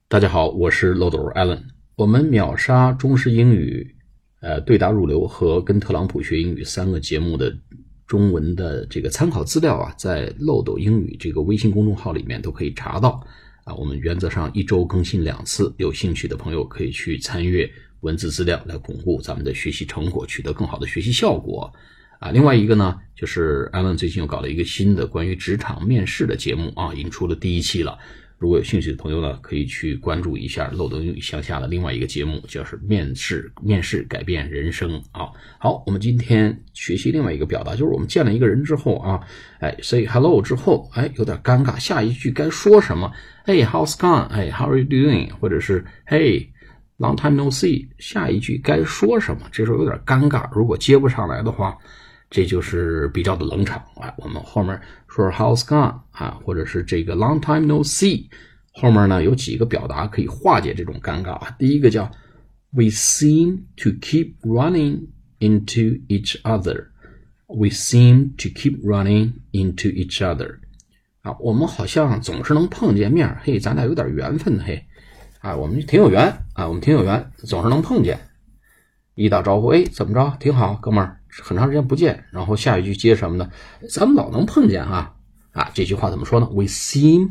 大家好，我是漏斗 Alan。我们秒杀中式英语、对答入流和跟特朗普学英语3个节目的中文的这个参考资料啊，在漏斗英语这个微信公众号里面都可以查到啊。我们原则上1周更新2次，有兴趣的朋友可以去参阅文字资料来巩固咱们的学习成果，取得更好的学习效果啊。另外一个呢，就是 Alan 最近又搞了一个新的关于职场面试的节目啊，已经出了第1期了。如果有兴趣的朋友呢，可以去关注一下漏斗英语向下的另外一个节目，就是面试改变人生啊。好，我们今天学习另外一个表达，就是我们见了一个人之后啊，say hello 之后，有点尴尬，下一句该说什么？Hey, how's it going? Hey, how are you doing? 或者是 Hey, long time no see， 下一句该说什么？这时候有点尴尬，如果接不上来的话，这就是比较的冷场啊。我们后面说 how's gone 啊，或者是这个 long time no see， 后面呢有几个表达可以化解这种尴尬啊。第一个叫 we seem to keep running into each other， we seem to keep running into each other 啊，我们好像总是能碰见面，嘿，咱俩有点缘分，嘿啊，我们挺有缘啊，我们挺有缘，总是能碰见。一打招呼，怎么着？挺好，哥们儿，很长时间不见。然后下一句接什么呢？咱们老能碰见啊！这句话怎么说呢？ We seem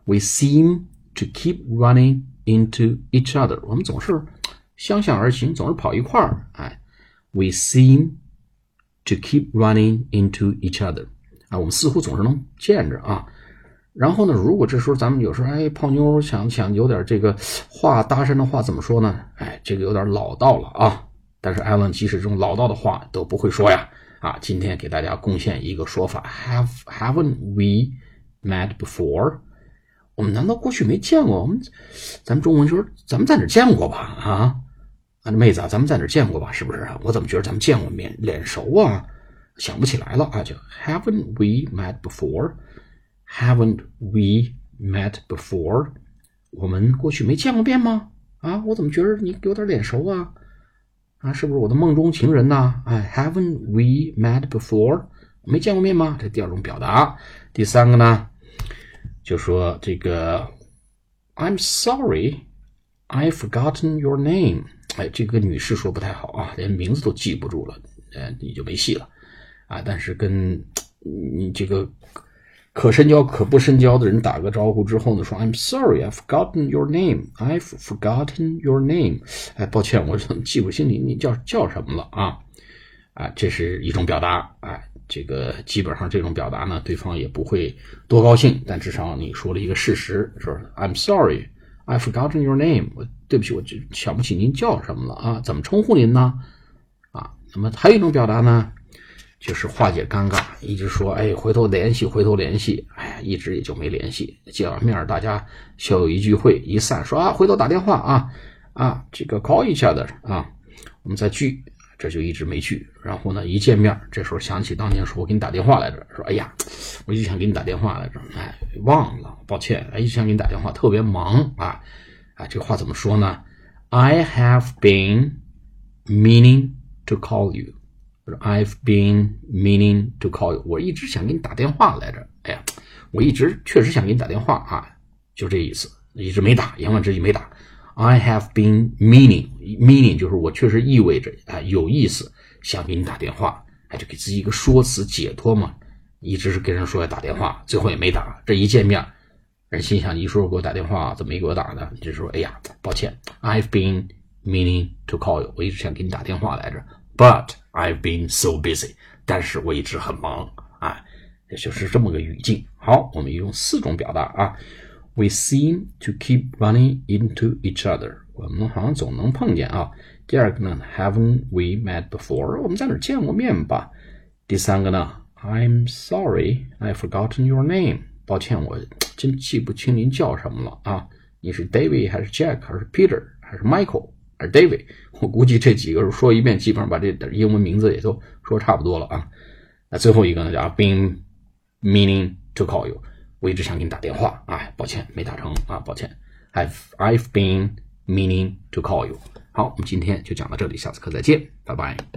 to keep running into each other。我们总是相向而行，总是跑一块儿。We seem to keep running into each other。我们似乎总是能见着啊。然后呢，如果这时候咱们有时候泡妞想有点这个话搭讪的话怎么说呢？这个有点老道了啊。但是 Alan 即使这种老道的话都不会说呀今天给大家贡献一个说法 haven't we met before？ 我们难道过去没见过？咱们中文说咱们在哪儿见过吧妹子咱们在哪儿见过吧？是不是？我怎么觉得咱们见过面，脸熟啊，想不起来了就 haven't we met before？ haven't we met before？ 我们过去没见过面吗？我怎么觉得你有点脸熟啊？是不是我的梦中情人呢？haven't we met before？ 没见过面吗？这第二种表达。第三个呢，就说这个 I'm sorry, I've forgotten your name。这个女士说不太好连名字都记不住了，你就没戏了但是跟你这个可深交可不深交的人打个招呼之后呢，说 I'm sorry, I've forgotten your name. I've forgotten your name. 抱歉，我记不清你叫什么了这是一种表达这个基本上这种表达呢，对方也不会多高兴，但至少你说了一个事实，说 I'm sorry, I've forgotten your name. 对不起，我想不起您叫什么了怎么称呼您呢？那么还有一种表达呢，就是化解尴尬，一直说回头联系，一直也就没联系。见完面大家小有一聚会，一散说回头打电话这个 call each other 我们再聚，这就一直没聚。然后呢，一见面，这时候想起当年说我给你打电话来着，说我一直想给你打电话来着，忘了，抱歉，一直想给你打电话，特别忙这个话怎么说呢？ I have been meaning to call you。I've been meaning to call you， 我一直想给你打电话来着，我一直确实想给你打电话就这意思，一直没打，言外之意没打。I have been meaning 就是我确实意味着有意思想给你打电话，就给自己一个说辞解脱嘛，一直是跟人说要打电话，最后也没打。这一见面，人心想你说给我打电话怎么没给我打呢？就说抱歉 ，I've been meaning to call you， 我一直想给你打电话来着。But I've been so busy， 但是我一直很忙也就是这么个语境。好，我们用4种表达We seem to keep running into each other， 我们好像总能碰见第二个呢 Haven't we met before， 我们在哪儿见过面吧。第三个呢 I'm sorry, I've forgotten your name， 抱歉，我真记不清您叫什么了你是 David 还是 Jack 还是 Peter 还是 Michael而 David， 我估计这几个说一遍基本上把这英文名字也都说差不多了那最后一个呢叫 I've been meaning to call you， 我一直想给你打电话抱歉没打成抱歉 I've been meaning to call you。 好，我们今天就讲到这里，下次课再见，拜拜。